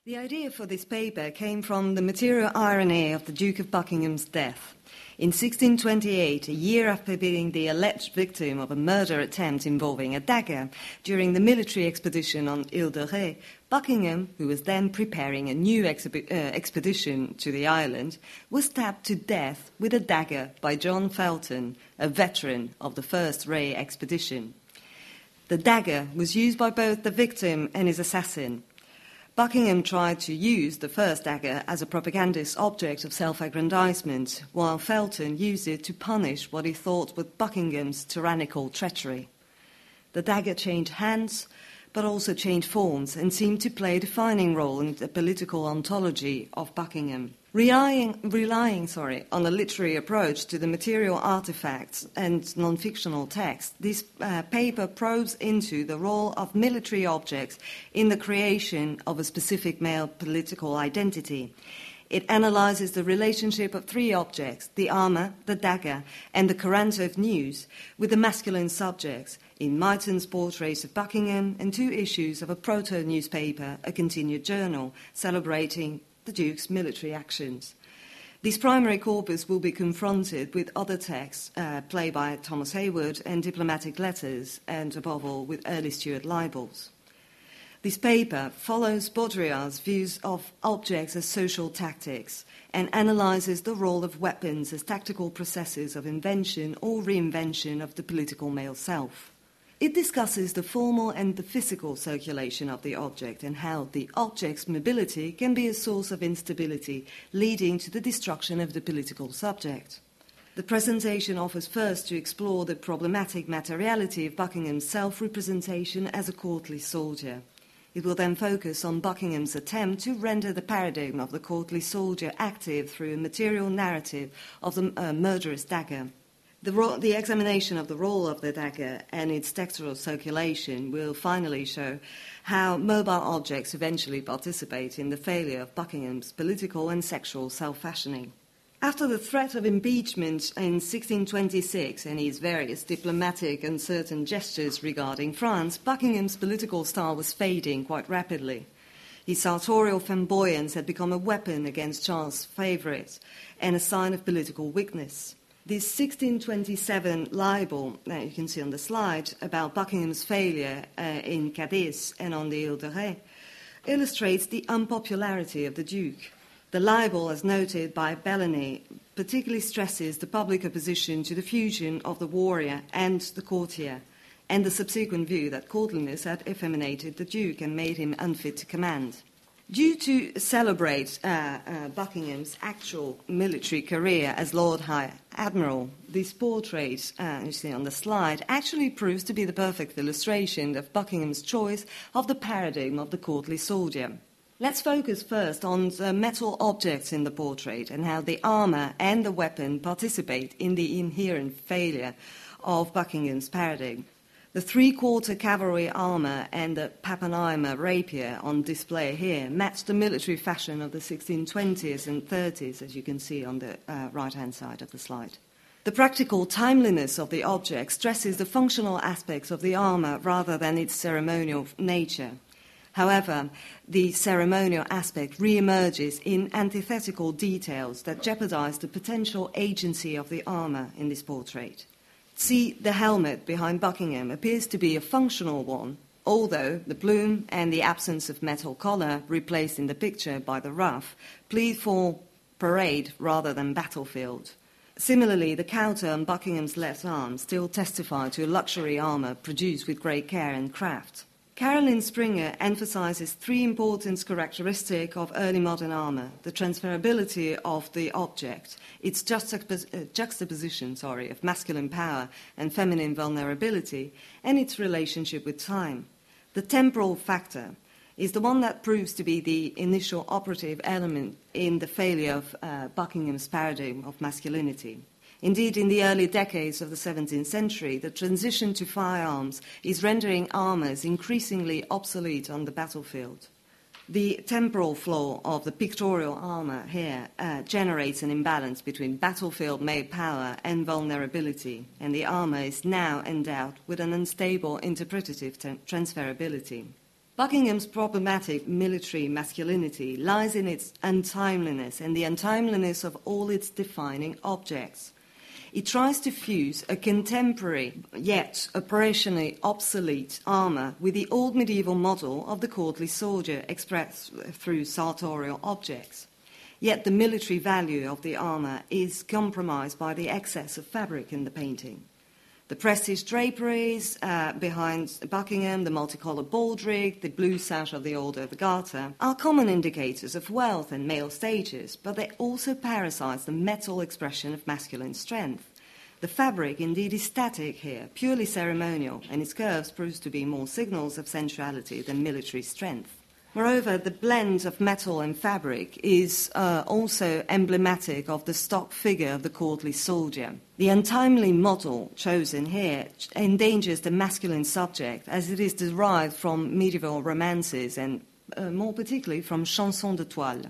The idea for this paper came from the material irony of the Duke of Buckingham's death. In 1628, a year after being the alleged victim of a murder attempt involving a dagger during the military expedition on Ile de Ré, Buckingham, who was then preparing a new expedition to the island, was stabbed to death with a dagger by John Felton, a veteran of the first Ré expedition. The dagger was used by both the victim and his assassin. Buckingham tried to use the first dagger as a propagandist object of self-aggrandizement, while Felton used it to punish what he thought was Buckingham's tyrannical treachery. The dagger changed hands, but also changed forms, and seemed to play a defining role in the political ontology of Buckingham. Relying on a literary approach to the material artifacts and non-fictional text, this paper probes into the role of military objects in the creation of a specific male political identity. It analyzes the relationship of three objects, the armour, the dagger, and the Coranto of News, with the masculine subjects, in Myton's portraits of Buckingham and 2 issues of a proto-newspaper, a continued journal, celebrating the Duke's military actions. This primary corpus will be confronted with other texts, play by Thomas Hayward, and diplomatic letters, and above all with early Stuart libels. This paper follows Baudrillard's views of objects as social tactics and analyses the role of weapons as tactical processes of invention or reinvention of the political male self. It discusses the formal and the physical circulation of the object and how the object's mobility can be a source of instability, leading to the destruction of the political subject. The presentation offers first to explore the problematic materiality of Buckingham's self-representation as a courtly soldier. It will then focus on Buckingham's attempt to render the paradigm of the courtly soldier active through a material narrative of the murderous dagger. The examination of the role of the dagger and its textual circulation will finally show how mobile objects eventually participate in the failure of Buckingham's political and sexual self-fashioning. After the threat of impeachment in 1626 and his various diplomatic and certain gestures regarding France, Buckingham's political style was fading quite rapidly. His sartorial flamboyance had become a weapon against Charles' favourites and a sign of political weakness. This 1627 libel, that you can see on the slide, about Buckingham's failure in Cadiz and on the Ile de Ré, illustrates the unpopularity of the Duke. The libel, as noted by Bellany, particularly stresses the public opposition to the fusion of the warrior and the courtier, and the subsequent view that courtliness had effeminated the Duke and made him unfit to command. Due to celebrate Buckingham's actual military career as Lord High Admiral, this portrait, you see on the slide, actually proves to be the perfect illustration of Buckingham's choice of the paradigm of the courtly soldier. Let's focus first on the metal objects in the portrait and how the armour and the weapon participate in the inherent failure of Buckingham's paradigm. The 3-quarter cavalry armour and the Pappenheimer rapier on display here match the military fashion of the 1620s and 30s, as you can see on the right-hand side of the slide. The practical timeliness of the object stresses the functional aspects of the armour rather than its ceremonial nature. However, the ceremonial aspect re-emerges in antithetical details that jeopardize the potential agency of the armour in this portrait. See, the helmet behind Buckingham appears to be a functional one, although the plume and the absence of metal collar replaced in the picture by the ruff plead for parade rather than battlefield. Similarly, the coulter on Buckingham's left arm still testify to a luxury armour produced with great care and craft. Caroline Springer emphasizes 3 important characteristics of early modern armour: the transferability of the object, its juxtaposition of masculine power and feminine vulnerability, and its relationship with time. The temporal factor is the one that proves to be the initial operative element in the failure of Buckingham's paradigm of masculinity. Indeed, in the early decades of the 17th century, the transition to firearms is rendering armours increasingly obsolete on the battlefield. The temporal flaw of the pictorial armour here generates an imbalance between battlefield-made power and vulnerability, and the armour is now endowed with an unstable interpretative transferability. Buckingham's problematic military masculinity lies in its untimeliness and the untimeliness of all its defining objects. It tries to fuse a contemporary, yet operationally obsolete armour with the old medieval model of the courtly soldier expressed through sartorial objects. Yet the military value of the armour is compromised by the excess of fabric in the painting. The prestige draperies behind Buckingham, the multicoloured baldric, the blue sash of the older Garter are common indicators of wealth and male status, but they also parasite the metal expression of masculine strength. The fabric indeed is static here, purely ceremonial, and its curves proves to be more signals of sensuality than military strength. Moreover, the blend of metal and fabric is also emblematic of the stock figure of the courtly soldier. The untimely model chosen here endangers the masculine subject as it is derived from medieval romances and more particularly from chansons de toile,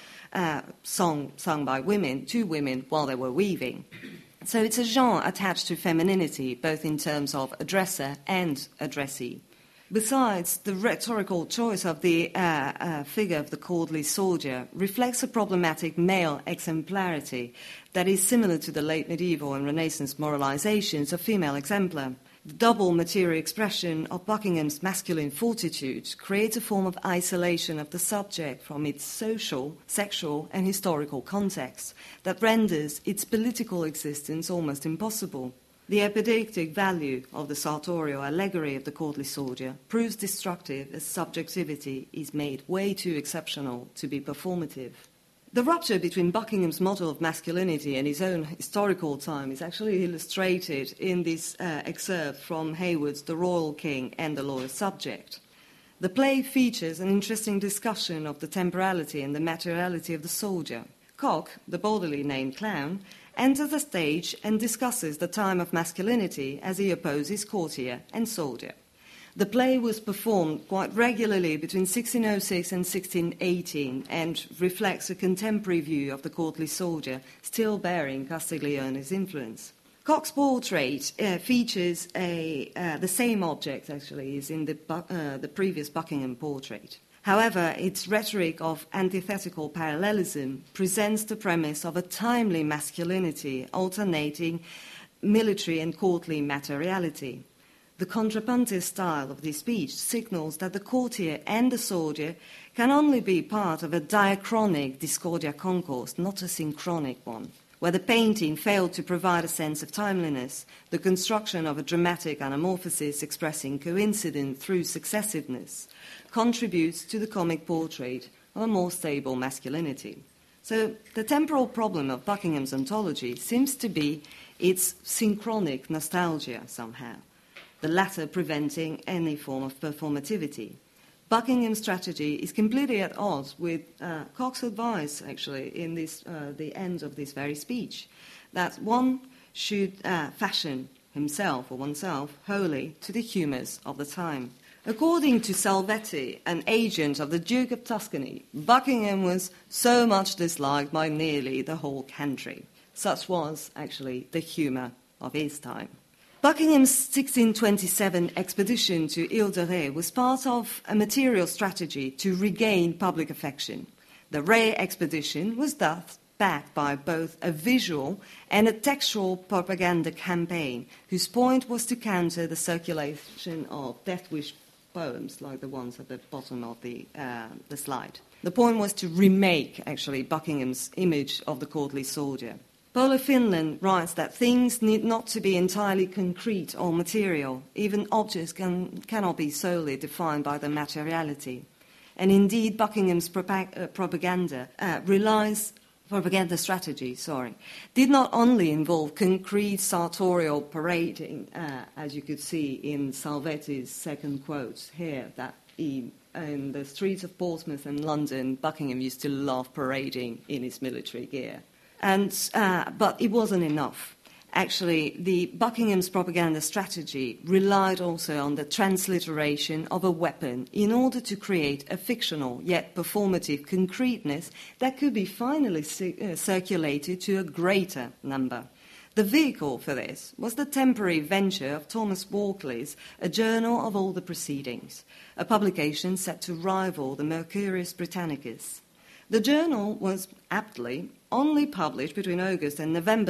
sung by women to women while they were weaving. So it's a genre attached to femininity, both in terms of addresser and addressee. Besides, the rhetorical choice of the figure of the courtly soldier reflects a problematic male exemplarity that is similar to the late medieval and Renaissance moralizations of female exemplar. The double material expression of Buckingham's masculine fortitude creates a form of isolation of the subject from its social, sexual, and historical context that renders its political existence almost impossible. The epidictic value of the sartorial allegory of the courtly soldier proves destructive as subjectivity is made way too exceptional to be performative. The rupture between Buckingham's model of masculinity and his own historical time is actually illustrated in this excerpt from Hayward's The Royal King and the Loyal Subject. The play features an interesting discussion of the temporality and the materiality of the soldier. Cock, the boldly named clown, enters the stage and discusses the time of masculinity as he opposes courtier and soldier. The play was performed quite regularly between 1606 and 1618 and reflects a contemporary view of the courtly soldier, still bearing Castiglione's influence. Cock's portrait features the same object, actually, as in the previous Buckingham portrait. However, its rhetoric of antithetical parallelism presents the premise of a timely masculinity alternating military and courtly materiality. The contrapuntist style of this speech signals that the courtier and the soldier can only be part of a diachronic discordia concourse, not a synchronic one. Where the painting failed to provide a sense of timeliness, the construction of a dramatic anamorphosis expressing coincidence through successiveness contributes to the comic portrait of a more stable masculinity. So the temporal problem of Buckingham's ontology seems to be its synchronic nostalgia somehow, the latter preventing any form of performativity. Buckingham's strategy is completely at odds with Cock's advice, actually, in the end of this very speech, that one should fashion himself or oneself wholly to the humours of the time. According to Salvetti, an agent of the Duke of Tuscany, Buckingham was so much disliked by nearly the whole country. Such was, actually, the humour of his time. Buckingham's 1627 expedition to Ile de Ré was part of a material strategy to regain public affection. The Ré expedition was thus backed by both a visual and a textual propaganda campaign, whose point was to counter the circulation of death wish poems like the ones at the bottom of the slide. The point was to remake, actually, Buckingham's image of the courtly soldier. Paula Finland writes that things need not to be entirely concrete or material. Even objects cannot be solely defined by their materiality. And indeed, Buckingham's propaganda strategy, did not only involve concrete sartorial parading, as you could see in Salvetti's second quote here, that in the streets of Portsmouth and London, Buckingham used to love parading in his military gear. But it wasn't enough. Actually, the Buckingham's propaganda strategy relied also on the transliteration of a weapon in order to create a fictional yet performative concreteness that could be finally circulated to a greater number. The vehicle for this was the temporary venture of Thomas Walkley's A Journal of All the Proceedings, a publication set to rival the Mercurius Britannicus. The journal was aptly only published between August and November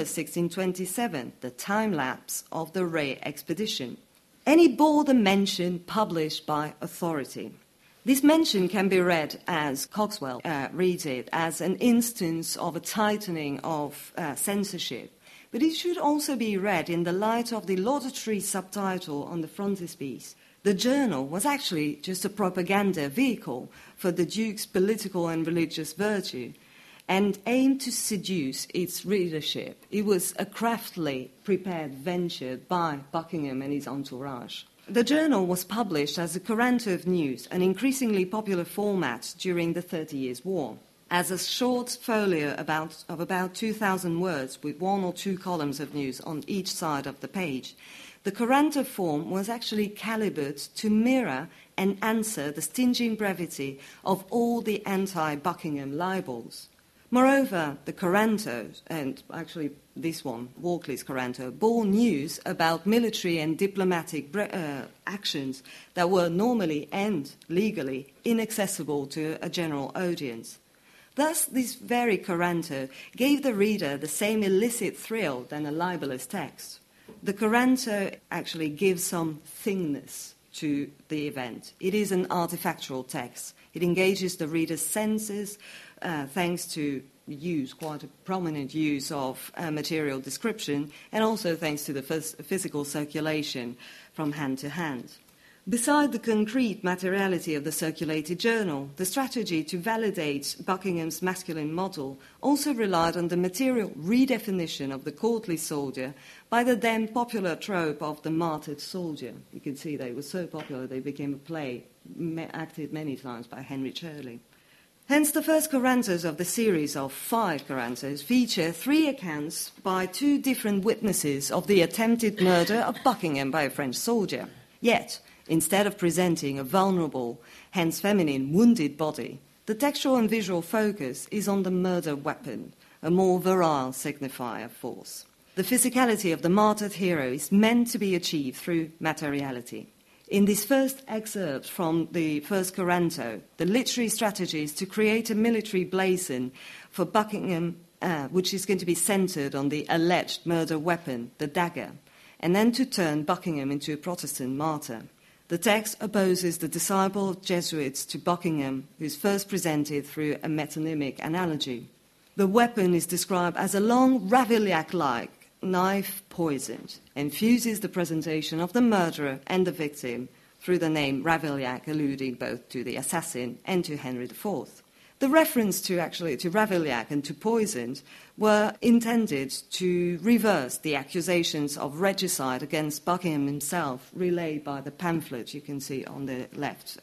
1627, the time-lapse of the Rhe expedition. And it bore the mention published by authority. This mention can be read, as Coxwell reads it, as an instance of a tightening of censorship. But it should also be read in the light of the laudatory subtitle on the frontispiece. The journal was actually just a propaganda vehicle for the Duke's political and religious virtue and aimed to seduce its readership. It was a craftily prepared venture by Buckingham and his entourage. The journal was published as a Coranto of news, an increasingly popular format during the 30 Years' War. As a short folio of about 2,000 words with one or two columns of news on each side of the page, the Coranto form was actually calibered to mirror and answer the stinging brevity of all the anti-Buckingham libels. Moreover, the Coranto, and actually this one, Walkley's Coranto, bore news about military and diplomatic actions that were normally and legally inaccessible to a general audience. Thus, this very Coranto gave the reader the same illicit thrill than a libelous text. The Coranto actually gives some thingness to the event. It is an artifactual text. It engages the reader's senses thanks to quite a prominent use of material description, and also thanks to the physical circulation from hand to hand. Beside the concrete materiality of the circulated journal, the strategy to validate Buckingham's masculine model also relied on the material redefinition of the courtly soldier by the then popular trope of the martyred soldier. You can see they were so popular they became a play acted many times by Henry Shirley. Hence, the first Corantos of the series of 5 Corantos feature 3 accounts by 2 different witnesses of the attempted murder of Buckingham by a French soldier. Yet, instead of presenting a vulnerable, hence feminine, wounded body, the textual and visual focus is on the murder weapon, a more virile signifier of force. The physicality of the martyred hero is meant to be achieved through materiality. In this first excerpt from the first Coranto, the literary strategy is to create a military blazon for Buckingham, which is going to be centred on the alleged murder weapon, the dagger, and then to turn Buckingham into a Protestant martyr. The text opposes the disciple of Jesuits to Buckingham, who is first presented through a metonymic analogy. The weapon is described as a long Ravaillac-like knife poisoned, and fuses the presentation of the murderer and the victim through the name Ravaillac, alluding both to the assassin and to Henry IV. The reference to Ravaillac and to poisoned were intended to reverse the accusations of regicide against Buckingham himself relayed by the pamphlet you can see on the left,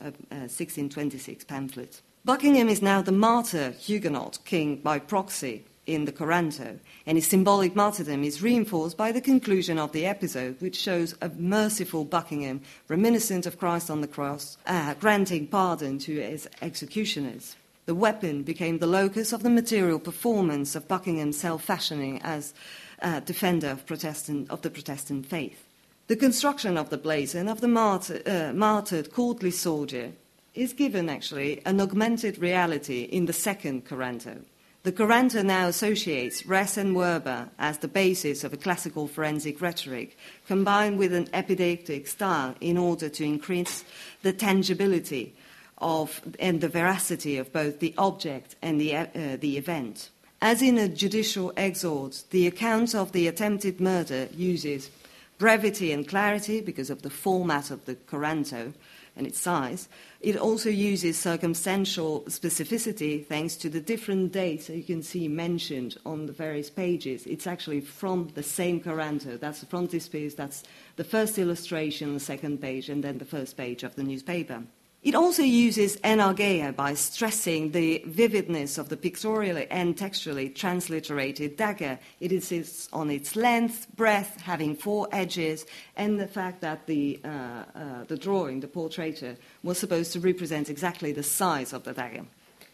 1626 pamphlet. Buckingham is now the martyr Huguenot king by proxy in the Coranto, and his symbolic martyrdom is reinforced by the conclusion of the episode, which shows a merciful Buckingham reminiscent of Christ on the cross, granting pardon to his executioners. The weapon became the locus of the material performance of Buckingham's self-fashioning as defender of the Protestant faith. The construction of the blazon of the martyred courtly soldier is given, actually, an augmented reality in the second Coranto. The Coranto now associates res and verba as the basis of a classical forensic rhetoric, combined with an epidictic style in order to increase the tangibility and the veracity of both the object and the event. As in a judicial exhort, the account of the attempted murder uses brevity and clarity because of the format of the Coranto and its size. It also uses circumstantial specificity thanks to the different dates that you can see mentioned on the various pages. It's actually from the same Coranto. That's the frontispiece, that's the first illustration, the second page, and then the first page of the newspaper. It also uses enargeia by stressing the vividness of the pictorially and textually transliterated dagger. It insists on its length, breadth, having 4 edges, and the fact that the drawing, the portraiture, was supposed to represent exactly the size of the dagger.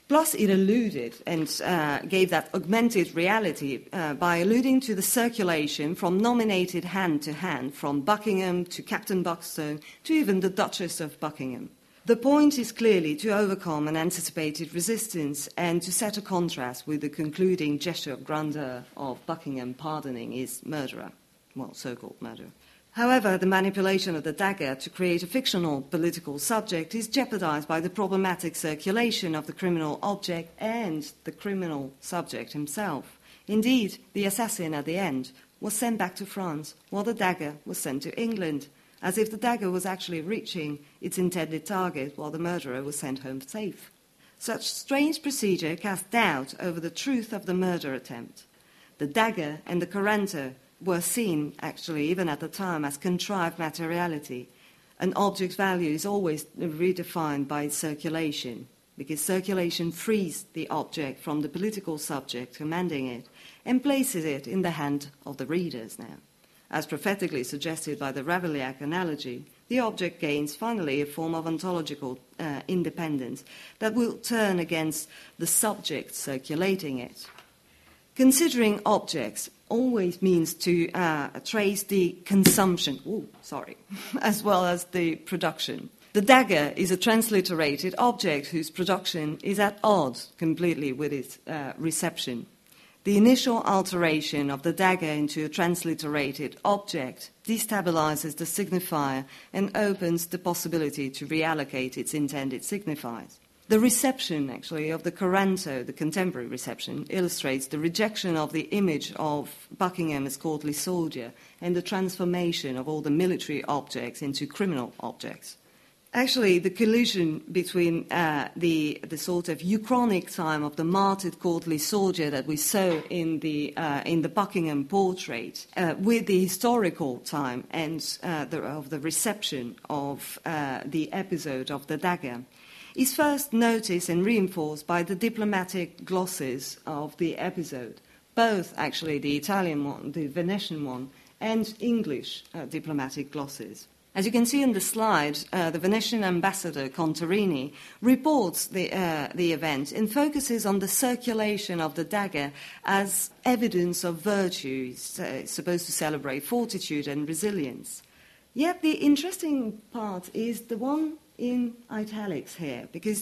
Plus, it alluded and gave that augmented reality by alluding to the circulation from nominated hand to hand, from Buckingham to Captain Buckstone to even the Duchess of Buckingham. The point is clearly to overcome an anticipated resistance and to set a contrast with the concluding gesture of grandeur of Buckingham pardoning his murderer, well, so-called murderer. However, the manipulation of the dagger to create a fictional political subject is jeopardized by the problematic circulation of the criminal object and the criminal subject himself. Indeed, the assassin at the end was sent back to France, while the dagger was sent to England, as if the dagger was actually reaching its intended target while the murderer was sent home safe. Such strange procedure casts doubt over the truth of the murder attempt. The dagger and the curranto were seen, actually, even at the time, as contrived materiality. An object's value is always redefined by its circulation, because circulation frees the object from the political subject commanding it and places it in the hand of the readers now. As prophetically suggested by the Ravaillac analogy, the object gains finally a form of ontological independence that will turn against the subject circulating it. Considering objects always means to trace the consumption, as well as the production. The dagger is a transliterated object whose production is at odds completely with its reception. The initial alteration of the dagger into a transliterated object destabilizes the signifier and opens the possibility to reallocate its intended signifiers. The reception, actually, of the curranto, the contemporary reception, illustrates the rejection of the image of Buckingham as courtly soldier and the transformation of all the military objects into criminal objects. Actually, the collision between the sort of uchronic time of the martyred courtly soldier that we saw in the Buckingham portrait with the historical time and of the reception of the episode of the dagger is first noticed and reinforced by the diplomatic glosses of the episode, both actually the Italian one, the Venetian one, and English diplomatic glosses. As you can see in the slide, the Venetian ambassador Contarini reports the event and focuses on the circulation of the dagger as evidence of virtue. It's supposed to celebrate fortitude and resilience. Yet the interesting part is the one in italics here, because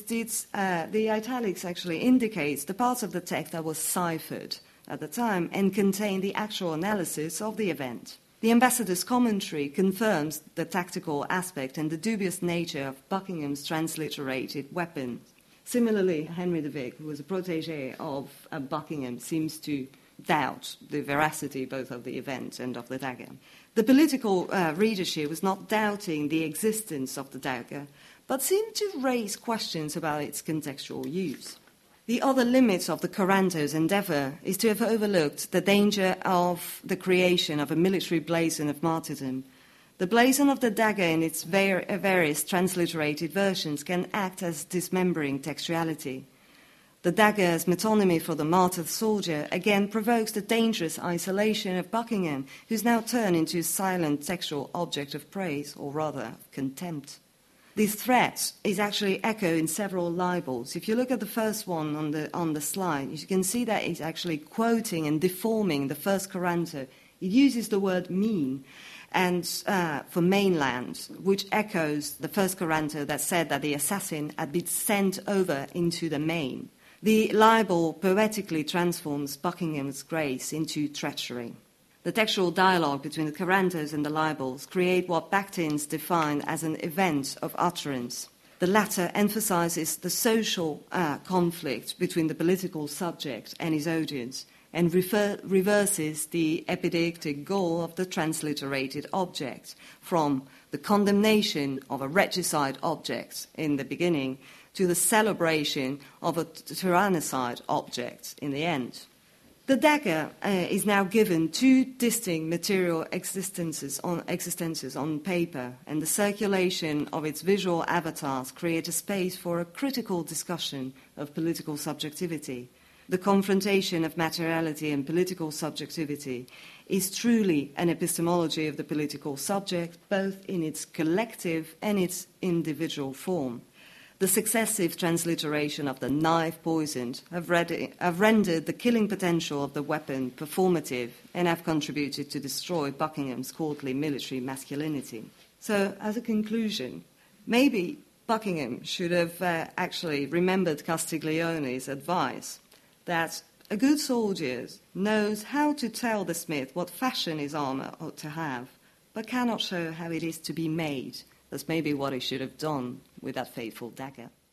the italics actually indicates the parts of the text that was ciphered at the time and contain the actual analysis of the event. The ambassador's commentary confirms the tactical aspect and the dubious nature of Buckingham's transliterated weapon. Similarly, Henry de Vic, who was a protégé of Buckingham, seems to doubt the veracity both of the event and of the dagger. The political readership was not doubting the existence of the dagger, but seemed to raise questions about its contextual use. The other limit of the curranto's endeavour is to have overlooked the danger of the creation of a military blazon of martyrdom. The blazon of the dagger in its various transliterated versions can act as dismembering textuality. The dagger as metonymy for the martyred soldier again provokes the dangerous isolation of Buckingham, who's now turned into a silent textual object of praise, or rather, contempt. This threat is actually echoed in several libels. If you look at the first one on the slide, you can see that it's actually quoting and deforming the first curranto. It uses the word mean and for mainland, which echoes the first curranto that said that the assassin had been sent over into the main. The libel poetically transforms Buckingham's grace into treachery. The textual dialogue between the currantos and the libels create what Bakhtins defined as an event of utterance. The latter emphasizes the social conflict between the political subject and his audience and reverses the epideictic goal of the transliterated object from the condemnation of a regicide object in the beginning to the celebration of a tyrannicide object in the end. The dagger is now given two distinct material existences on paper, and the circulation of its visual avatars create a space for a critical discussion of political subjectivity. The confrontation of materiality and political subjectivity is truly an epistemology of the political subject, both in its collective and its individual form. The successive transliteration of the knife poisoned have rendered the killing potential of the weapon performative and have contributed to destroy Buckingham's courtly military masculinity. So, as a conclusion, maybe Buckingham should have actually remembered Castiglione's advice that a good soldier knows how to tell the smith what fashion his armour ought to have, but cannot show how it is to be made. That's maybe what he should have done with that fateful dagger.